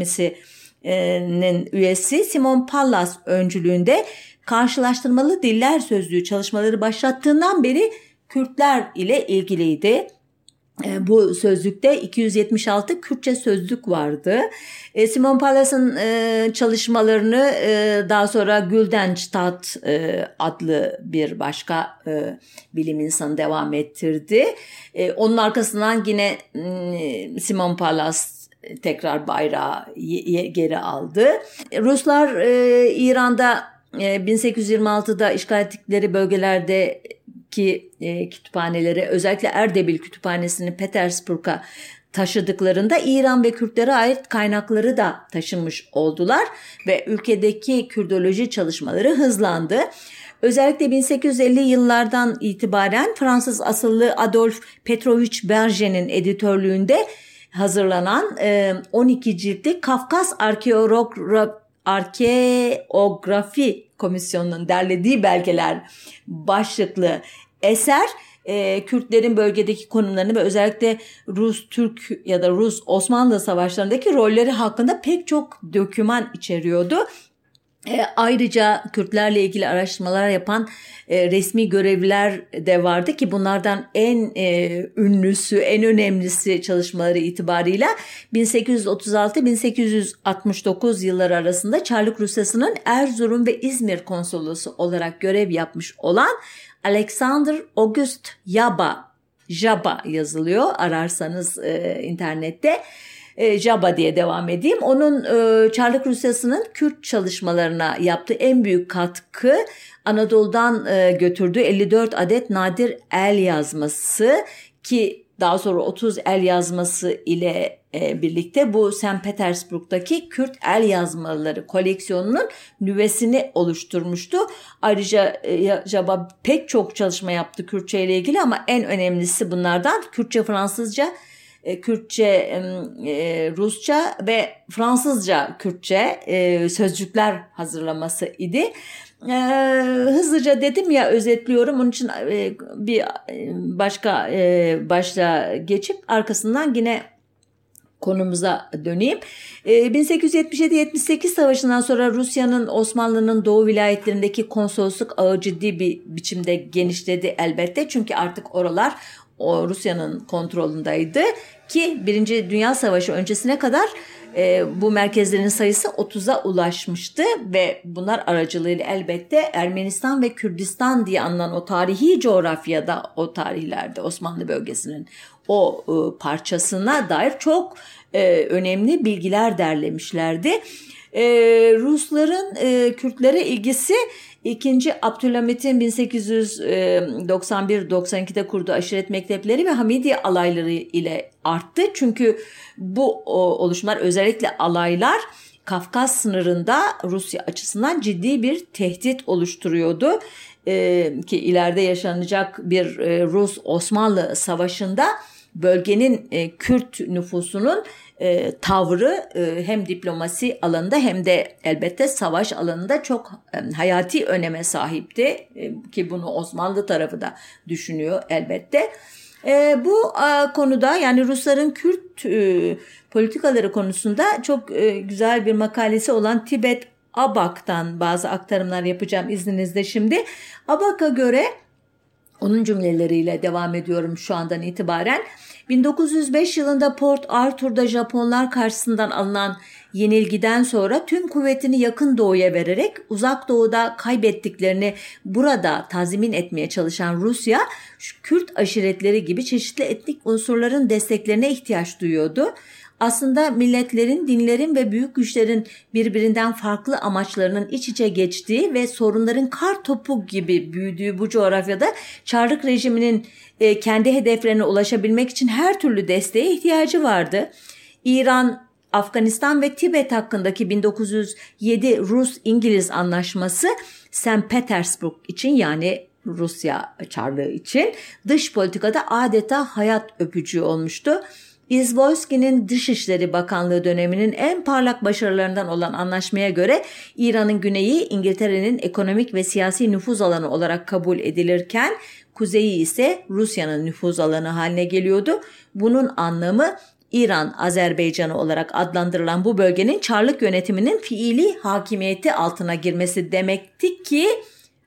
Akademisi'nin üyesi Simon Pallas öncülüğünde karşılaştırmalı diller sözlüğü çalışmaları başlattığından beri Kürtler ile ilgiliydi. Bu sözlükte iki yüz yetmiş altı Kürtçe sözlük vardı. Simon Pallas'ın çalışmalarını daha sonra Güldenstadt adlı bir başka bilim insanı devam ettirdi. Onun arkasından yine Simon Pallas tekrar bayrağı geri aldı. Ruslar İran'da bin sekiz yüz yirmi altıda işgal ettikleri bölgelerde ki e, kütüphaneleri, özellikle Erdebil Kütüphanesi'ni Petersburg'a taşıdıklarında İran ve Kürtlere ait kaynakları da taşımış oldular ve ülkedeki Kürdoloji çalışmaları hızlandı. Özellikle bin sekiz yüz elli yıllardan itibaren Fransız asıllı Adolphe Petrovich Berger'in editörlüğünde hazırlanan e, on iki ciltlik Kafkas Arkeografi Arkeografi Komisyonu'nun derlediği belgeler başlıklı eser e, Kürtlerin bölgedeki konumlarını ve özellikle Rus-Türk ya da Rus-Osmanlı savaşlarındaki rolleri hakkında pek çok doküman içeriyordu. E, ayrıca Kürtlerle ilgili araştırmalar yapan e, resmi görevliler de vardı ki bunlardan en e, ünlüsü, en önemlisi çalışmaları itibarıyla bin sekiz yüz otuz altı bin sekiz yüz altmış dokuz yılları arasında Çarlık Rusyası'nın Erzurum ve İzmir konsolosu olarak görev yapmış olan Alexander August Jaba, Jaba yazılıyor ararsanız e, internette. Jaba diye devam edeyim. Onun e, Çarlık Rusyası'nın Kürt çalışmalarına yaptığı en büyük katkı Anadolu'dan e, götürdüğü elli dört adet nadir el yazması ki daha sonra otuz el yazması ile e, birlikte bu Sankt Petersburg'daki Kürt el yazmaları koleksiyonunun nüvesini oluşturmuştu. Ayrıca e, Jaba pek çok çalışma yaptı Kürtçe ile ilgili ama en önemlisi bunlardan Kürtçe, Fransızca, Kürtçe, Rusça ve Fransızca Kürtçe sözcükler hazırlaması idi. Hızlıca dedim ya, özetliyorum. Onun için bir başka başlığa geçip arkasından yine konumuza döneyim. bin sekiz yüz yetmiş yedi yetmiş sekiz savaşından sonra Rusya'nın Osmanlı'nın doğu vilayetlerindeki konsolosluk ağı ciddi bir biçimde genişledi elbette. Çünkü artık oralar o Rusya'nın kontrolündeydi ki Birinci Dünya Savaşı öncesine kadar e, bu merkezlerin sayısı otuza ulaşmıştı ve bunlar aracılığıyla elbette Ermenistan ve Kürdistan diye anılan o tarihi coğrafyada, o tarihlerde Osmanlı bölgesinin o e, parçasına dair çok e, önemli bilgiler derlemişlerdi. E, Rusların e, Kürtlere ilgisi İkinci Abdülhamit'in bin sekiz yüz doksan bir doksan ikide kurduğu aşiret mektepleri ve Hamidiye alayları ile arttı. Çünkü bu oluşumlar, özellikle alaylar, Kafkas sınırında Rusya açısından ciddi bir tehdit oluşturuyordu. Ee, ki ileride yaşanacak bir e, Rus-Osmanlı savaşında bölgenin e, Kürt nüfusunun e, tavrı e, hem diplomasi alanında hem de elbette savaş alanında çok e, hayati öneme sahipti. E, ki bunu Osmanlı tarafı da düşünüyor elbette. E, bu e, konuda, yani Rusların Kürt e, politikaları konusunda çok e, güzel bir makalesi olan Tibet Abak'tan bazı aktarımlar yapacağım izninizle şimdi. Abak'a göre, onun cümleleriyle devam ediyorum şu andan itibaren, bin dokuz yüz beş yılında Port Arthur'da Japonlar karşısından alınan yenilgiden sonra tüm kuvvetini yakın doğuya vererek uzak doğuda kaybettiklerini burada tazmin etmeye çalışan Rusya, Kürt aşiretleri gibi çeşitli etnik unsurların desteklerine ihtiyaç duyuyordu. Aslında milletlerin, dinlerin ve büyük güçlerin birbirinden farklı amaçlarının iç içe geçtiği ve sorunların kar topu gibi büyüdüğü bu coğrafyada Çarlık rejiminin e, kendi hedeflerine ulaşabilmek için her türlü desteğe ihtiyacı vardı. İran, Afganistan ve Tibet hakkındaki bin dokuz yüz yedi Rus-İngiliz anlaşması Sankt Petersburg için, yani Rusya Çarlığı için dış politikada adeta hayat öpücüğü olmuştu. İzvolski'nin Dışişleri Bakanlığı döneminin en parlak başarılarından olan anlaşmaya göre İran'ın güneyi İngiltere'nin ekonomik ve siyasi nüfuz alanı olarak kabul edilirken kuzeyi ise Rusya'nın nüfuz alanı haline geliyordu. Bunun anlamı İran Azerbaycanı olarak adlandırılan bu bölgenin Çarlık yönetiminin fiili hakimiyeti altına girmesi demekti ki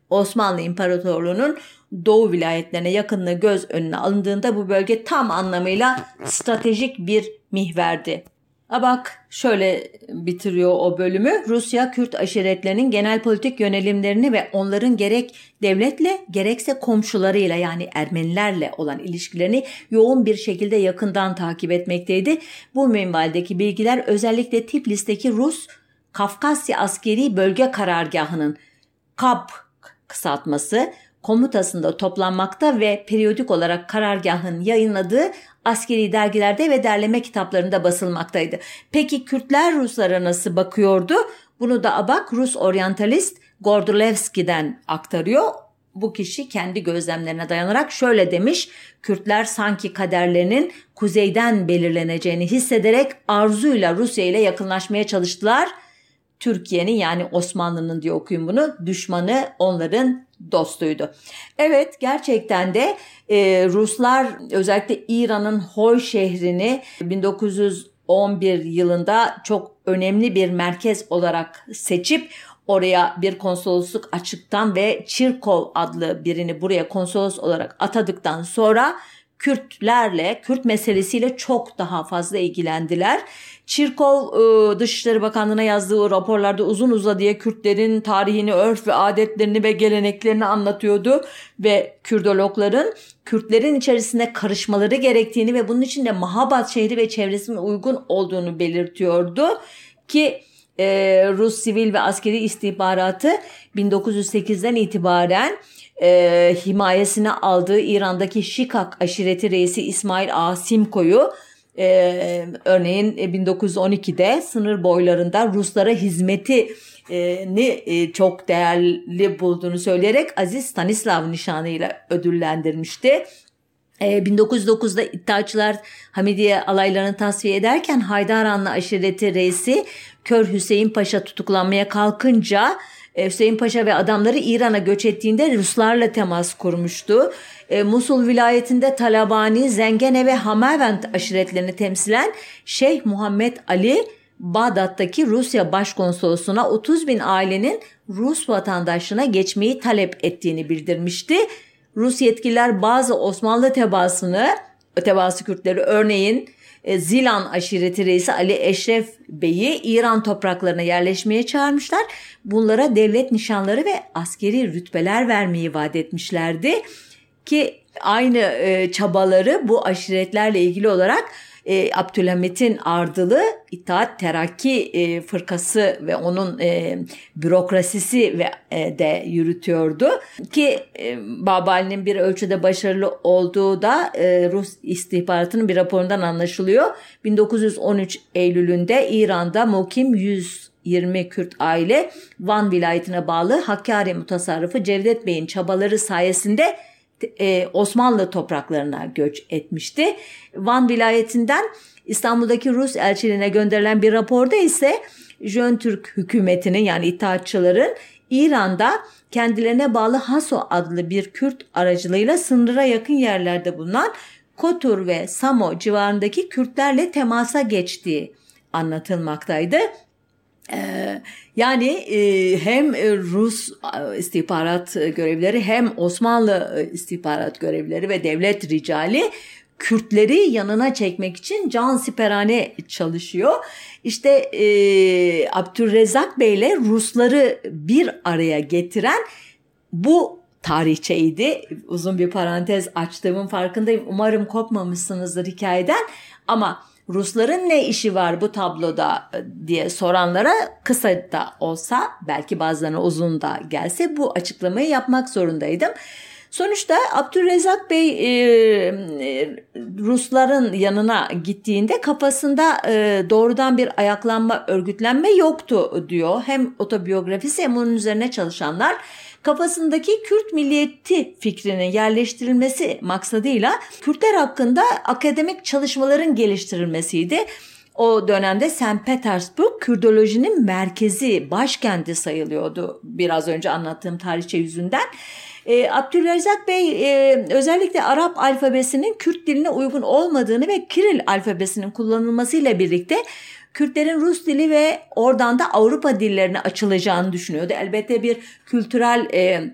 Osmanlı İmparatorluğu'nun doğu vilayetlerine yakınlığı göz önüne alındığında bu bölge tam anlamıyla stratejik bir mihverdi. A bak şöyle bitiriyor o bölümü. Rusya, Kürt aşiretlerinin genel politik yönelimlerini ve onların gerek devletle gerekse komşularıyla yani Ermenilerle olan ilişkilerini yoğun bir şekilde yakından takip etmekteydi. Bu minvaldeki bilgiler özellikle Tiflis'teki Rus Kafkasya Askeri Bölge Karargahı'nın K A P kısaltması komutasında toplanmakta ve periyodik olarak karargahın yayınladığı askeri dergilerde ve derleme kitaplarında basılmaktaydı. Peki Kürtler Ruslara nasıl bakıyordu? Bunu da Abak Rus oryantalist Gordulevski'den aktarıyor. Bu kişi kendi gözlemlerine dayanarak şöyle demiş: Kürtler sanki kaderlerinin kuzeyden belirleneceğini hissederek arzuyla Rusya ile yakınlaşmaya çalıştılar. Türkiye'nin yani Osmanlı'nın diye okuyun bunu, düşmanı onların dostuydu. Evet, gerçekten de e, Ruslar özellikle İran'ın Hoy şehrini bin dokuz yüz on bir yılında çok önemli bir merkez olarak seçip oraya bir konsolosluk açıktan ve Çirkov adlı birini buraya konsolos olarak atadıktan sonra Kürtlerle, Kürt meselesiyle çok daha fazla ilgilendiler. Çirkov Dışişleri Bakanlığı'na yazdığı raporlarda uzun uzadıya Kürtlerin tarihini, örf ve adetlerini ve geleneklerini anlatıyordu ve Kürdologların Kürtlerin içerisinde karışmaları gerektiğini ve bunun için de Mahabat şehri ve çevresinin uygun olduğunu belirtiyordu ki e, Rus sivil ve askeri istihbaratı bin dokuz yüz sekizden itibaren e, himayesine aldığı İran'daki Şikak aşireti reisi İsmail Ağa Simko'yu Ee, örneğin bin dokuz yüz on ikide sınır boylarında Ruslara hizmetini e, çok değerli bulduğunu söyleyerek Aziz Stanislav nişanıyla ödüllendirmişti. Ee, bin dokuz yüz dokuzda İttihatçılar Hamidiye alaylarını tasfiye ederken Haydaranlı aşireti reisi Kör Hüseyin Paşa tutuklanmaya kalkınca Hüseyin Paşa ve adamları İran'a göç ettiğinde Ruslarla temas kurmuştu. E, Musul vilayetinde Talabani, Zengene ve Hamavend aşiretlerini temsilen Şeyh Muhammed Ali, Bağdat'taki Rusya Başkonsolosluğu'na otuz bin ailenin Rus vatandaşlığına geçmeyi talep ettiğini bildirmişti. Rus yetkililer bazı Osmanlı tebaasını, tebaası Kürtleri örneğin Zilan aşireti reisi Ali Eşref Bey'i İran topraklarına yerleşmeye çağırmışlar. Bunlara devlet nişanları ve askeri rütbeler vermeyi vaat etmişlerdi. Ki aynı e, çabaları bu aşiretlerle ilgili olarak e, Abdülhamit'in ardılı İttihat Terakki e, fırkası ve onun e, bürokrasisi ve e, de yürütüyordu. Ki e, Babali'nin bir ölçüde başarılı olduğu da e, Rus istihbaratının bir raporundan anlaşılıyor. bin dokuz yüz on üç Eylül'ünde İran'da mukim yüz yirmi Kürt aile Van vilayetine bağlı Hakkari mutasarrıfı Cevdet Bey'in çabaları sayesinde Osmanlı topraklarına göç etmişti. Van vilayetinden İstanbul'daki Rus elçiliğine gönderilen bir raporda ise Jön Türk hükümetinin yani İttihatçıların İran'da kendilerine bağlı Haso adlı bir Kürt aracılığıyla sınıra yakın yerlerde bulunan Kotur ve Samo civarındaki Kürtlerle temasa geçtiği anlatılmaktaydı. Yani hem Rus istihbarat görevlileri hem Osmanlı istihbarat görevlileri ve devlet ricali Kürtleri yanına çekmek için cansiperane çalışıyor. İşte e, Abdülrezzak Bey ile Rusları bir araya getiren bu tarihçeydi. Uzun bir parantez açtığımın farkındayım. Umarım kopmamışsınızdır hikayeden ama Rusların ne işi var bu tabloda diye soranlara kısa da olsa belki bazılarına uzun da gelse bu açıklamayı yapmak zorundaydım. Sonuçta Abdülrezzak Bey e, e, Rusların yanına gittiğinde kafasında e, doğrudan bir ayaklanma, örgütlenme yoktu diyor. Hem otobiyografisi hem onun üzerine çalışanlar kafasındaki Kürt milliyeti fikrinin yerleştirilmesi maksadıyla Kürtler hakkında akademik çalışmaların geliştirilmesiydi. O dönemde Sankt Petersburg Kürdolojinin merkezi, başkenti sayılıyordu biraz önce anlattığım tarihçe yüzünden. E, Abdülrezzak Bey e, özellikle Arap alfabesinin Kürt diline uygun olmadığını ve Kiril alfabesinin kullanılmasıyla birlikte Kürtlerin Rus dili ve oradan da Avrupa dillerine açılacağını düşünüyordu. Elbette bir kültürel e,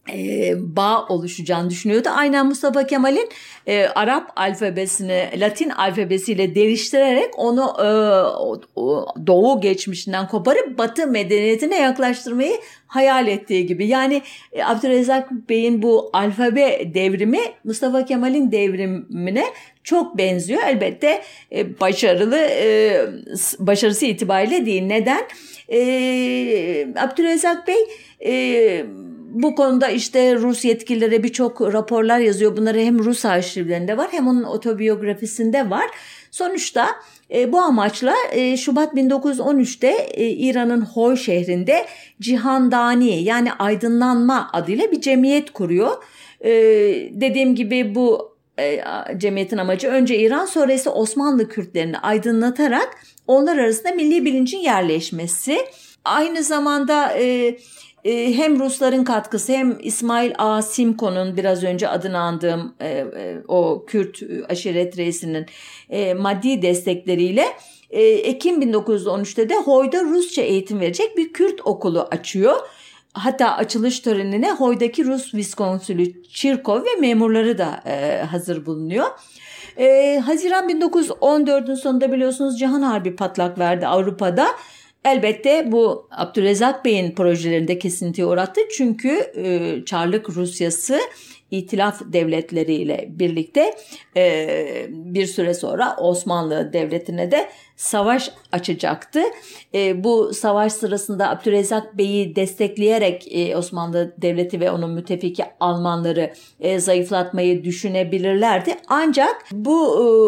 e, bağ oluşacağını düşünüyordu. Aynen Mustafa Kemal'in e, Arap alfabesini Latin alfabesiyle değiştirerek onu e, o, o, Doğu geçmişinden koparıp Batı medeniyetine yaklaştırmayı hayal ettiği gibi. Yani e, Abdülrezzak Bey'in bu alfabe devrimi Mustafa Kemal'in devrimine çok benziyor. Elbette e, başarılı e, başarısı itibariyle değil. Neden? E, Abdülrezzak Bey e, bu konuda işte Rus yetkililere birçok raporlar yazıyor. Bunları hem Rus arşivlerinde var hem onun otobiyografisinde var. Sonuçta e, bu amaçla e, Şubat bin dokuz yüz on üçte e, İran'ın Hoy şehrinde Cihandani yani aydınlanma adıyla bir cemiyet kuruyor. E, dediğim gibi bu e, cemiyetin amacı önce İran sonra ise Osmanlı Kürtlerini aydınlatarak onlar arasında milli bilincin yerleşmesi. Aynı zamanda e, hem Rusların katkısı hem İsmail Ağa Simko'nun biraz önce adını andığım e, e, o Kürt aşiret reisinin e, maddi destekleriyle e, Ekim bin dokuz yüz on üçte de Hoy'da Rusça eğitim verecek bir Kürt okulu açıyor. Hatta açılış törenine Hoy'daki Rus Viskonsülü Çirkov ve memurları da e, hazır bulunuyor. E, Haziran bin dokuz yüz on dördün sonunda biliyorsunuz Cihan Harbi patlak verdi Avrupa'da. Elbette bu Abdülrezzak Bey'in projelerinde kesintiye uğrattı. Çünkü e, Çarlık Rusyası İtilaf devletleriyle birlikte e, bir süre sonra Osmanlı Devleti'ne de savaş açacaktı. E, bu savaş sırasında Abdülrezzak Bey'i destekleyerek e, Osmanlı Devleti ve onun müttefiki Almanları e, zayıflatmayı düşünebilirlerdi. Ancak bu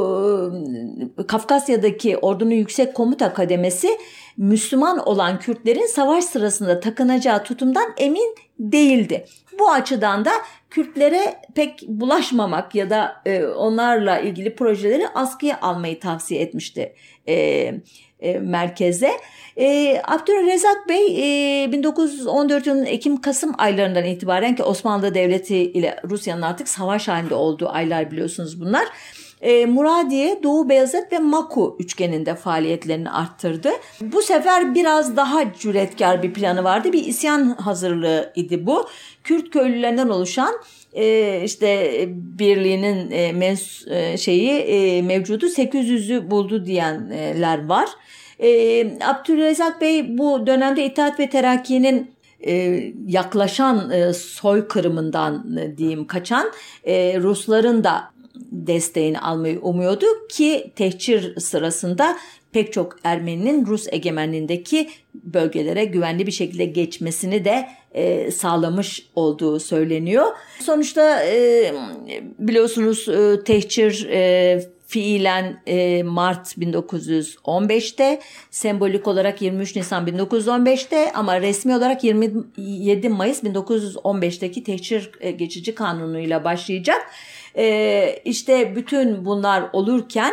e, Kafkasya'daki ordunun yüksek komuta kademesi Müslüman olan Kürtlerin savaş sırasında takınacağı tutumdan emin değildi. Bu açıdan da Kürtlere pek bulaşmamak ya da e, onlarla ilgili projeleri askıya almayı tavsiye etmişti e, e, merkeze. E, Abdülrezzak Bey e, bin dokuz yüz on dört yılının Ekim-Kasım aylarından itibaren ki Osmanlı Devleti ile Rusya'nın artık savaş halinde olduğu aylar biliyorsunuz bunlar. E, Muradiye, Doğu Beyazıt ve Maku üçgeninde faaliyetlerini arttırdı. Bu sefer biraz daha cüretkar bir planı vardı. Bir isyan hazırlığı idi bu. Kürt köylülerinden oluşan e, işte birliğinin e, mens, e, şeyi e, mevcudu sekiz yüzü buldu diyenler var. E, Abdülrezzak Bey bu dönemde İttihat ve Terakki'nin e, yaklaşan e, soykırımından e, diyeyim kaçan e, Rusların da desteğini almayı umuyordu ki tehcir sırasında pek çok Ermeninin Rus egemenliğindeki bölgelere güvenli bir şekilde geçmesini de e, sağlamış olduğu söyleniyor. Sonuçta e, biliyorsunuz e, tehcir e, fiilen e, Mart bin dokuz yüz on beşte, sembolik olarak yirmi üç Nisan bin dokuz yüz on beşte ama resmi olarak yirmi yedi Mayıs bin dokuz yüz on beşteki tehcir e, geçici kanunuyla başlayacak. Ee, işte bütün bunlar olurken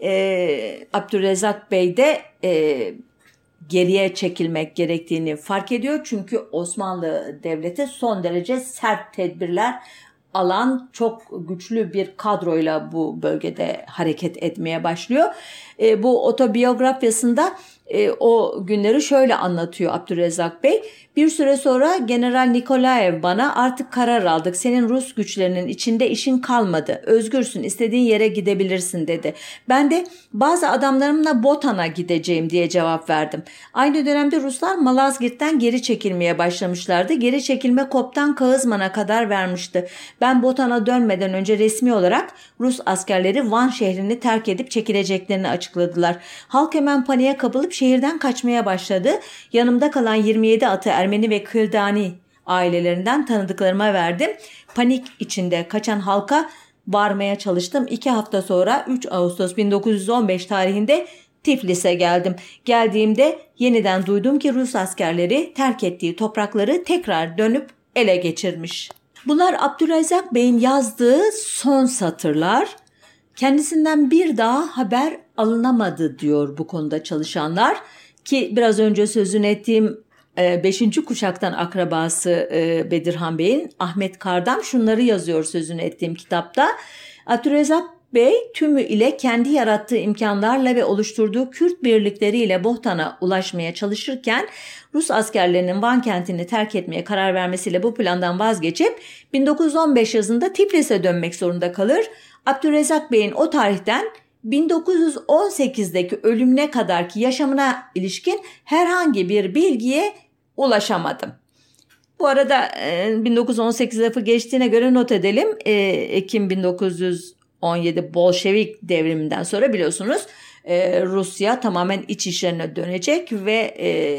e, Abdülrezzak Bey de e, geriye çekilmek gerektiğini fark ediyor. Çünkü Osmanlı Devleti son derece sert tedbirler alan çok güçlü bir kadroyla bu bölgede hareket etmeye başlıyor. E, bu otobiyografyasında e, o günleri şöyle anlatıyor Abdülrezzak Bey. Bir süre sonra General Nikolaev bana artık karar aldık. Senin Rus güçlerinin içinde işin kalmadı. Özgürsün, istediğin yere gidebilirsin dedi. Ben de bazı adamlarımla Botan'a gideceğim diye cevap verdim. Aynı dönemde Ruslar Malazgirt'ten geri çekilmeye başlamışlardı. Geri çekilme Koptan Kağızman'a kadar vermişti. Ben Botan'a dönmeden önce resmi olarak Rus askerleri Van şehrini terk edip çekileceklerini açıkladılar. Halk hemen paniğe kapılıp şehirden kaçmaya başladı. Yanımda kalan yirmi yedi atı Ermeni ve Kıldani ailelerinden tanıdıklarıma verdim. Panik içinde kaçan halka varmaya çalıştım. İki hafta sonra üç Ağustos bin dokuz yüz on beş tarihinde Tiflis'e geldim. Geldiğimde yeniden duydum ki Rus askerleri terk ettiği toprakları tekrar dönüp ele geçirmiş. Bunlar Abdülrezzak Bey'in yazdığı son satırlar. Kendisinden bir daha haber alınamadı diyor bu konuda çalışanlar ki biraz önce sözünü ettiğim beşinci kuşaktan akrabası Bedirhan Bey'in Ahmet Kardam şunları yazıyor sözünü ettiğim kitapta. Abdülrezzak Bey tümü ile kendi yarattığı imkanlarla ve oluşturduğu Kürt birlikleriyle Bohtan'a ulaşmaya çalışırken Rus askerlerinin Van kentini terk etmeye karar vermesiyle bu plandan vazgeçip bin dokuz yüz on beş yazında Tiflis'e dönmek zorunda kalır. Abdülrezzak Bey'in o tarihten bin dokuz yüz on sekizdeki ölümüne kadarki yaşamına ilişkin herhangi bir bilgiye ulaşamadım. Bu arada bin dokuz yüz on sekiz lafı geçtiğine göre not edelim. Ekim bin dokuz yüz on yedi Bolşevik devriminden sonra biliyorsunuz Rusya tamamen iç işlerine dönecek ve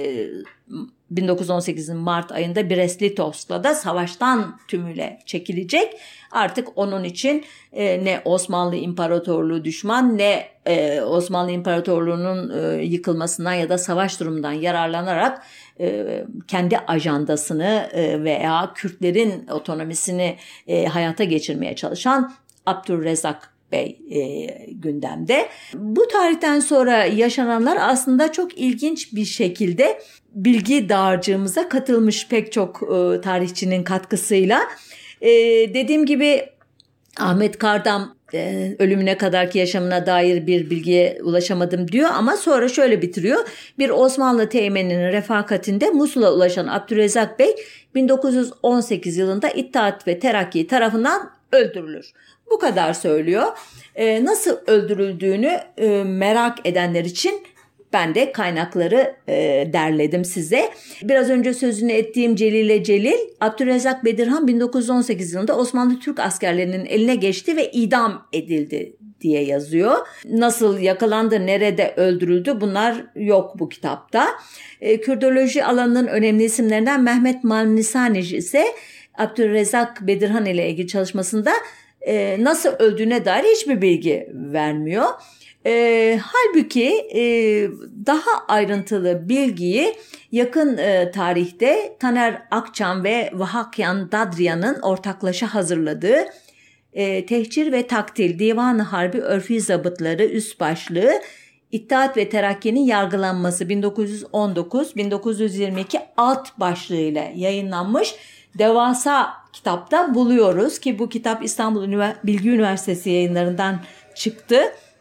bin dokuz yüz on sekizin Mart ayında Brest-Litovsk'la da savaştan tümüyle çekilecek. Artık onun için e, ne Osmanlı İmparatorluğu düşman ne e, Osmanlı İmparatorluğu'nun e, yıkılmasından ya da savaş durumundan yararlanarak e, kendi ajandasını e, veya Kürtlerin otonomisini e, hayata geçirmeye çalışan Abdülrezzak Bey e, gündemde. Bu tarihten sonra yaşananlar aslında çok ilginç bir şekilde bilgi dağarcığımıza katılmış pek çok e, tarihçinin katkısıyla. E, dediğim gibi Ahmet Kardam e, ölümüne kadarki yaşamına dair bir bilgiye ulaşamadım diyor ama sonra şöyle bitiriyor. Bir Osmanlı teğmeninin refakatinde Musul'a ulaşan Abdülrezzak Bey bin dokuz yüz on sekiz yılında İttihat ve Terakki tarafından öldürülür. Bu kadar söylüyor. E, nasıl öldürüldüğünü e, merak edenler için ben de kaynakları e, derledim size. Biraz önce sözünü ettiğim Celile Celil, Abdülrezzak Bedirhan bin dokuz yüz on sekiz yılında Osmanlı Türk askerlerinin eline geçti ve idam edildi diye yazıyor. Nasıl yakalandı, nerede öldürüldü bunlar yok bu kitapta. E, Kürdoloji alanının önemli isimlerinden Mehmet Malnisani ise Abdülrezzak Bedirhan ile ilgili çalışmasında e, nasıl öldüğüne dair hiçbir bilgi vermiyor. E, halbuki e, daha ayrıntılı bilgiyi yakın e, tarihte Taner Akçam ve Vahakyan Dadriyan'ın ortaklaşa hazırladığı e, Tehcir ve Taktil Divan-ı Harbi Örfi Zabıtları üst başlığı İttihat ve Terakki'nin yargılanması bin dokuz yüz on dokuz bin dokuz yüz yirmi iki alt başlığıyla yayınlanmış devasa kitapta buluyoruz ki bu kitap İstanbul Ünivers- Bilgi Üniversitesi yayınlarından çıktı.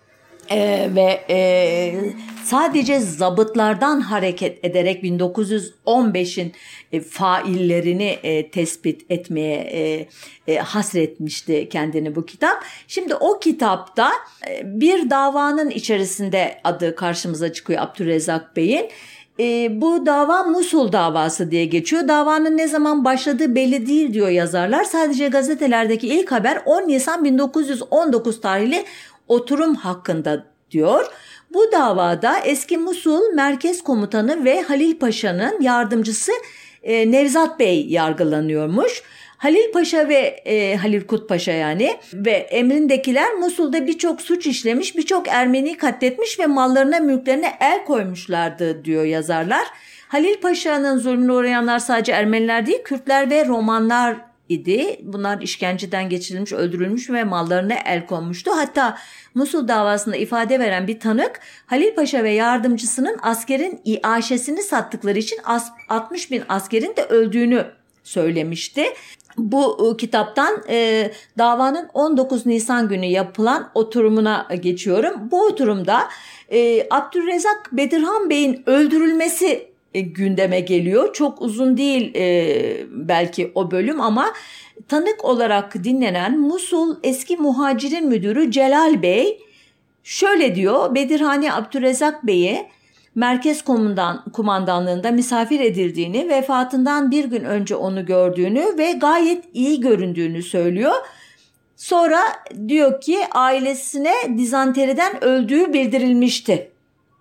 Ee, ve e, sadece zabıtlardan hareket ederek bin dokuz yüz on beşin e, faillerini e, tespit etmeye e, e, hasretmişti kendini bu kitap. Şimdi o kitapta e, bir davanın içerisinde adı karşımıza çıkıyor Abdülrezzak Bey'in. E, bu dava Musul davası diye geçiyor. Davanın ne zaman başladığı belli değil diyor yazarlar. Sadece gazetelerdeki ilk haber on Nisan bin dokuz yüz on dokuz tarihli oturum hakkında diyor. Bu davada eski Musul Merkez Komutanı ve Halil Paşa'nın yardımcısı e, Nevzat Bey yargılanıyormuş. Halil Paşa ve e, Halil Kut Paşa yani ve emrindekiler Musul'da birçok suç işlemiş, birçok Ermeni katletmiş ve mallarına mülklerine el koymuşlardı diyor yazarlar. Halil Paşa'nın zulmüne uğrayanlar sadece Ermeniler değil, Kürtler ve Romanlar idi. Bunlar işkenceden geçirilmiş, öldürülmüş ve mallarına el konmuştu. Hatta Musul davasında ifade veren bir tanık Halil Paşa ve yardımcısının askerin iaşesini sattıkları için altmış bin askerin de öldüğünü söylemişti. Bu kitaptan e, davanın on dokuz Nisan günü yapılan oturumuna geçiyorum. Bu oturumda e, Abdülrezzak Bedirhan Bey'in öldürülmesi e, gündeme geliyor. Çok uzun değil e, belki o bölüm ama tanık olarak dinlenen Musul eski muhacirin müdürü Celal Bey şöyle diyor: Bedirhani Abdülrezzak Bey'e Merkez Komutan, Kumandanlığında misafir edildiğini, vefatından bir gün önce onu gördüğünü ve gayet iyi göründüğünü söylüyor. Sonra diyor ki ailesine dizanteriden öldüğü bildirilmişti.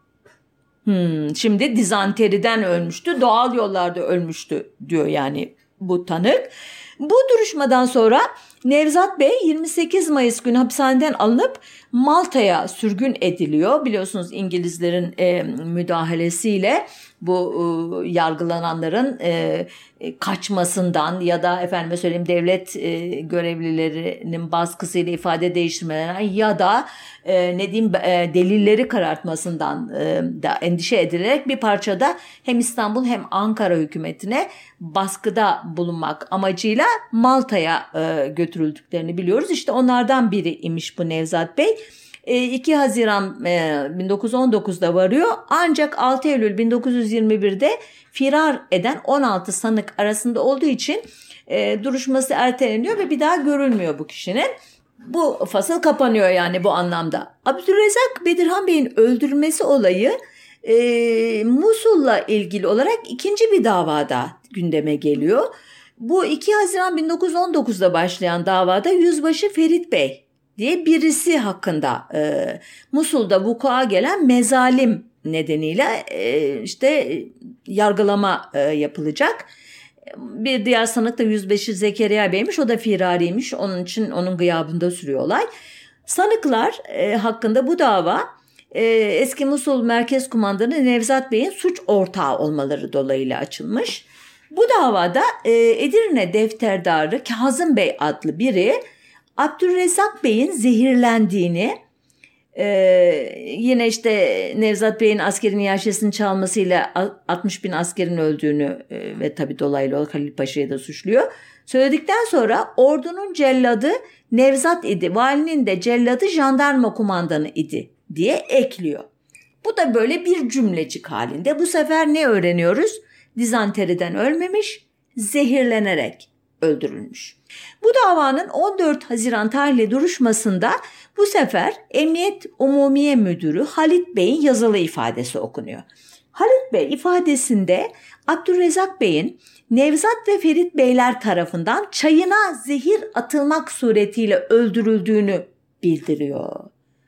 Hmm, şimdi dizanteriden ölmüştü, doğal yollarda ölmüştü diyor yani bu tanık. Bu duruşmadan sonra Nevzat Bey yirmi sekiz Mayıs günü hapishaneden alınıp Malta'ya sürgün ediliyor. Biliyorsunuz İngilizlerin e, müdahalesiyle bu e, yargılananların e, kaçmasından ya da efendime söyleyeyim devlet e, görevlilerinin baskısıyla ifade değiştirmelerinden ya da e, ne diyeyim e, delilleri karartmasından e, da endişe edilerek bir parçada hem İstanbul hem Ankara hükümetine baskıda bulunmak amacıyla Malta'ya e, götürüldüklerini biliyoruz. İşte onlardan biri imiş bu Nevzat Bey. iki Haziran bin dokuz yüz on dokuzda varıyor, ancak altı Eylül bin dokuz yüz yirmi birde firar eden on altı sanık arasında olduğu için e, duruşması erteleniyor ve bir daha görülmüyor bu kişinin. Bu fasıl kapanıyor yani bu anlamda. Abdülrezzak Bedirhan Bey'in öldürülmesi olayı e, Musul'la ilgili olarak ikinci bir davada gündeme geliyor. Bu iki Haziran bin dokuz yüz on dokuzda başlayan davada Yüzbaşı Ferit Bey diye birisi hakkında e, Musul'da vuku'a gelen mezalim nedeniyle e, işte yargılama e, yapılacak. Bir diğer sanık da Yüzbaşı Zekeriya Bey'miş, o da firariymiş, onun için onun gıyabında sürüyor olay. Sanıklar e, hakkında bu dava e, eski Musul Merkez Kumandanı Nevzat Bey'in suç ortağı olmaları dolayıyla açılmış. Bu davada e, Edirne Defterdarı Kazım Bey adlı biri Abdülrezzak Bey'in zehirlendiğini, e, yine işte Nevzat Bey'in askerin iaşesini çalmasıyla altmış bin askerin öldüğünü e, ve tabii dolaylı olarak Halil Paşa'yı da suçluyor. Söyledikten sonra ordunun celladı Nevzat idi, valinin de celladı jandarma kumandanı idi diye ekliyor. Bu da böyle bir cümlecik halinde. Bu sefer ne öğreniyoruz? Dizanteriden ölmemiş, zehirlenerek öldürülmüş. Bu davanın on dört Haziran tarihli duruşmasında bu sefer Emniyet Umumiye Müdürü Halit Bey'in yazılı ifadesi okunuyor. Halit Bey ifadesinde Abdülrezzak Bey'in Nevzat ve Ferit Beyler tarafından çayına zehir atılmak suretiyle öldürüldüğünü bildiriyor.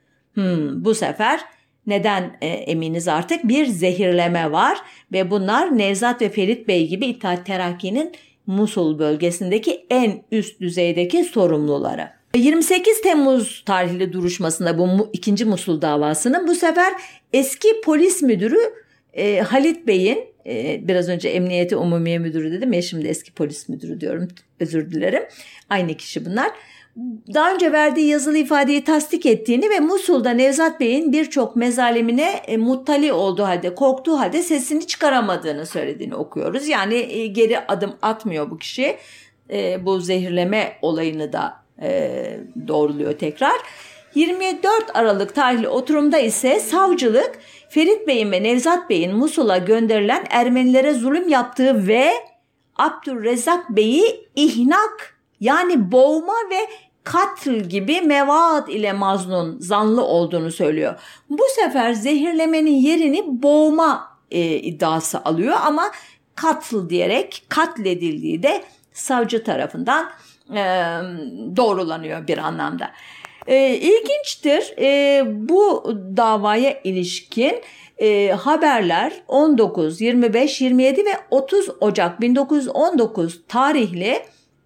Hmm, bu sefer neden e, eminiz artık bir zehirleme var ve bunlar Nevzat ve Ferit Bey gibi İttihat Terakki'nin Musul bölgesindeki en üst düzeydeki sorumluları. yirmi sekiz Temmuz tarihli duruşmasında bu ikinci Musul davasının bu sefer eski polis müdürü e, Halit Bey'in, e, biraz önce Emniyeti Umumiye Müdürü dedim ya, şimdi eski polis müdürü diyorum, özür dilerim, aynı kişi bunlar. Daha önce verdiği yazılı ifadeyi tasdik ettiğini ve Musul'da Nevzat Bey'in birçok mezalimine e, muttali olduğu halde, korktuğu halde sesini çıkaramadığını söylediğini okuyoruz. Yani e, geri adım atmıyor bu kişi. E, bu zehirleme olayını da e, doğruluyor tekrar. yirmi dört Aralık tarihli oturumda ise savcılık Ferit Bey'in ve Nevzat Bey'in Musul'a gönderilen Ermenilere zulüm yaptığı ve Abdülrezzak Bey'i ihnak, yani boğma ve katl gibi mevaat ile maznun, zanlı olduğunu söylüyor. Bu sefer zehirlemenin yerini boğma e, iddiası alıyor ama katl diyerek katledildiği de savcı tarafından e, doğrulanıyor bir anlamda. E, ilginçtir, e, bu davaya ilişkin e, haberler on dokuz, yirmi beş, yirmi yedi ve otuz Ocak bin dokuz yüz on dokuz tarihli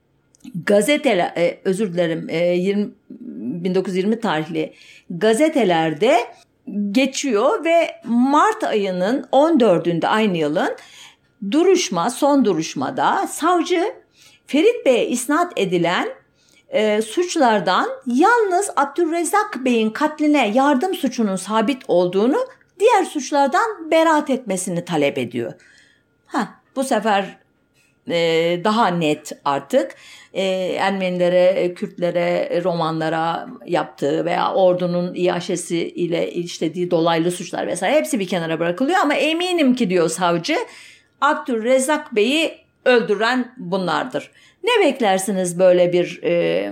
gazeteler, e, özür dilerim e, yirmi, bin dokuz yüz yirmi tarihli gazetelerde geçiyor ve Mart ayının on dördünde aynı yılın duruşma, son duruşmada savcı Ferit Bey'e isnat edilen e, suçlardan yalnız Abdülrezzak Bey'in katline yardım suçunun sabit olduğunu, diğer suçlardan beraat etmesini talep ediyor. Ha, bu sefer e, daha net artık e, Ermenilere, Kürtlere, Romanlara yaptığı veya ordunun iaşesi ile işlediği dolaylı suçlar vesaire hepsi bir kenara bırakılıyor ama eminim ki diyor savcı, Abdülrezzak Bey'i öldüren bunlardır. Ne beklersiniz böyle bir e,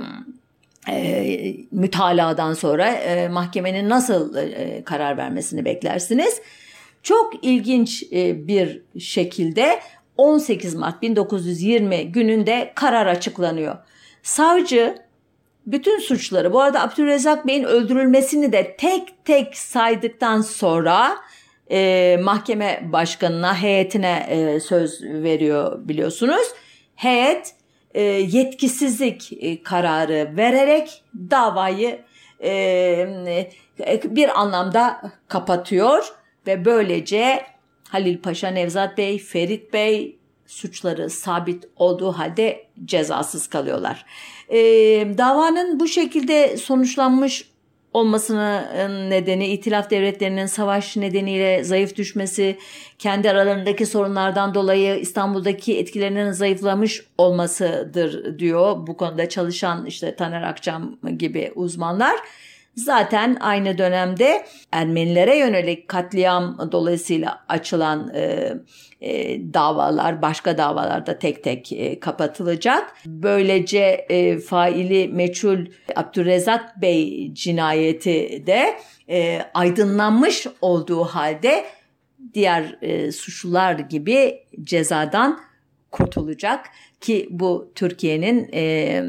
e, mütaladan sonra e, mahkemenin nasıl e, karar vermesini beklersiniz? Çok ilginç e, bir şekilde on sekiz Mart bin dokuz yüz yirmi gününde karar açıklanıyor. Savcı bütün suçları, bu arada Abdülrezzak Bey'in öldürülmesini de tek tek saydıktan sonra e, mahkeme başkanına, heyetine e, söz veriyor biliyorsunuz. Heyet e, yetkisizlik e, kararı vererek davayı e, e, bir anlamda kapatıyor ve böylece Halil Paşa, Nevzat Bey, Ferit Bey suçları sabit olduğu halde cezasız kalıyorlar. E, davanın bu şekilde sonuçlanmış olmasının nedeni İtilaf devletlerinin savaş nedeniyle zayıf düşmesi, kendi aralarındaki sorunlardan dolayı İstanbul'daki etkilerinin zayıflamış olmasıdır diyor bu konuda çalışan işte Taner Akçam gibi uzmanlar. Zaten aynı dönemde Ermenilere yönelik katliam dolayısıyla açılan e, e, davalar, başka davalarda tek tek e, kapatılacak. Böylece e, faili meçhul Abdurrezzak Bey cinayeti de e, aydınlanmış olduğu halde diğer e, suçlular gibi cezadan kurtulacak ki bu Türkiye'nin e,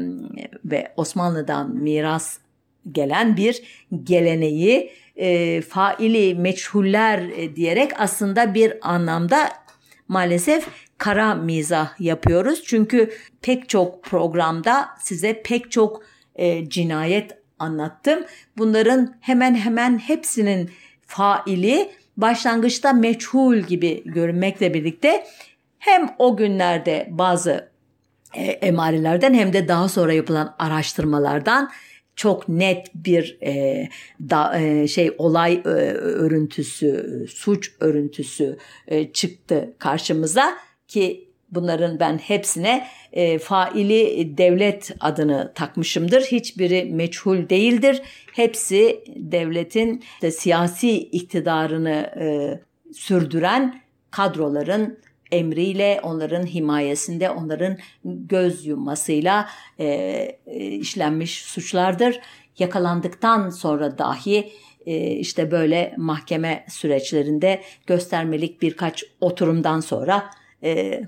ve Osmanlı'dan miras gelen bir geleneği, e, faili meçhuller e, diyerek aslında bir anlamda maalesef kara mizah yapıyoruz. Çünkü pek çok programda size pek çok e, cinayet anlattım. Bunların hemen hemen hepsinin faili başlangıçta meçhul gibi görünmekle birlikte hem o günlerde bazı e, emarelerden hem de daha sonra yapılan araştırmalardan çok net bir e, da, e, şey olay e, örüntüsü, suç örüntüsü e, çıktı karşımıza ki bunların ben hepsine e, faili devlet adını takmışımdır. Hiçbiri meçhul değildir. Hepsi devletin de siyasi iktidarını e, sürdüren kadroların emriyle, onların himayesinde, onların göz yummasıyla e, e, işlenmiş suçlardır. Yakalandıktan sonra dahi e, işte böyle mahkeme süreçlerinde göstermelik birkaç oturumdan sonra e,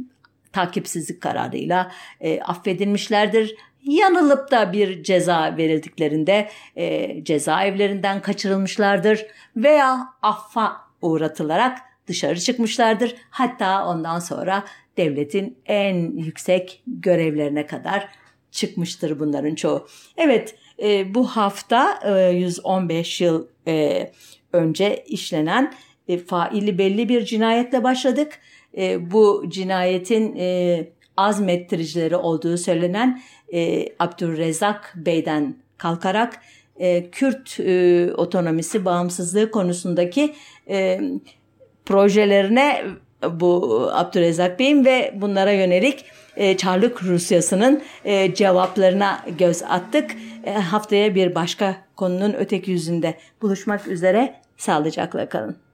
takipsizlik kararıyla e, affedilmişlerdir. Yanılıp da bir ceza verildiklerinde e, cezaevlerinden kaçırılmışlardır veya affa uğratılarak dışarı çıkmışlardır. Hatta ondan sonra devletin en yüksek görevlerine kadar çıkmıştır bunların çoğu. Evet, e, bu hafta e, yüz on beş yıl e, önce işlenen e, faili belli bir cinayetle başladık. E, bu cinayetin e, azmettiricileri olduğu söylenen e, Abdurrezzak Bey'den kalkarak e, Kürt e, otonomisi, bağımsızlığı konusundaki e, projelerine bu Abdurrezzak Bey'in ve bunlara yönelik e, Çarlık Rusyası'nın e, cevaplarına göz attık. E, haftaya bir başka konunun öteki yüzünde buluşmak üzere, sağlıcakla kalın.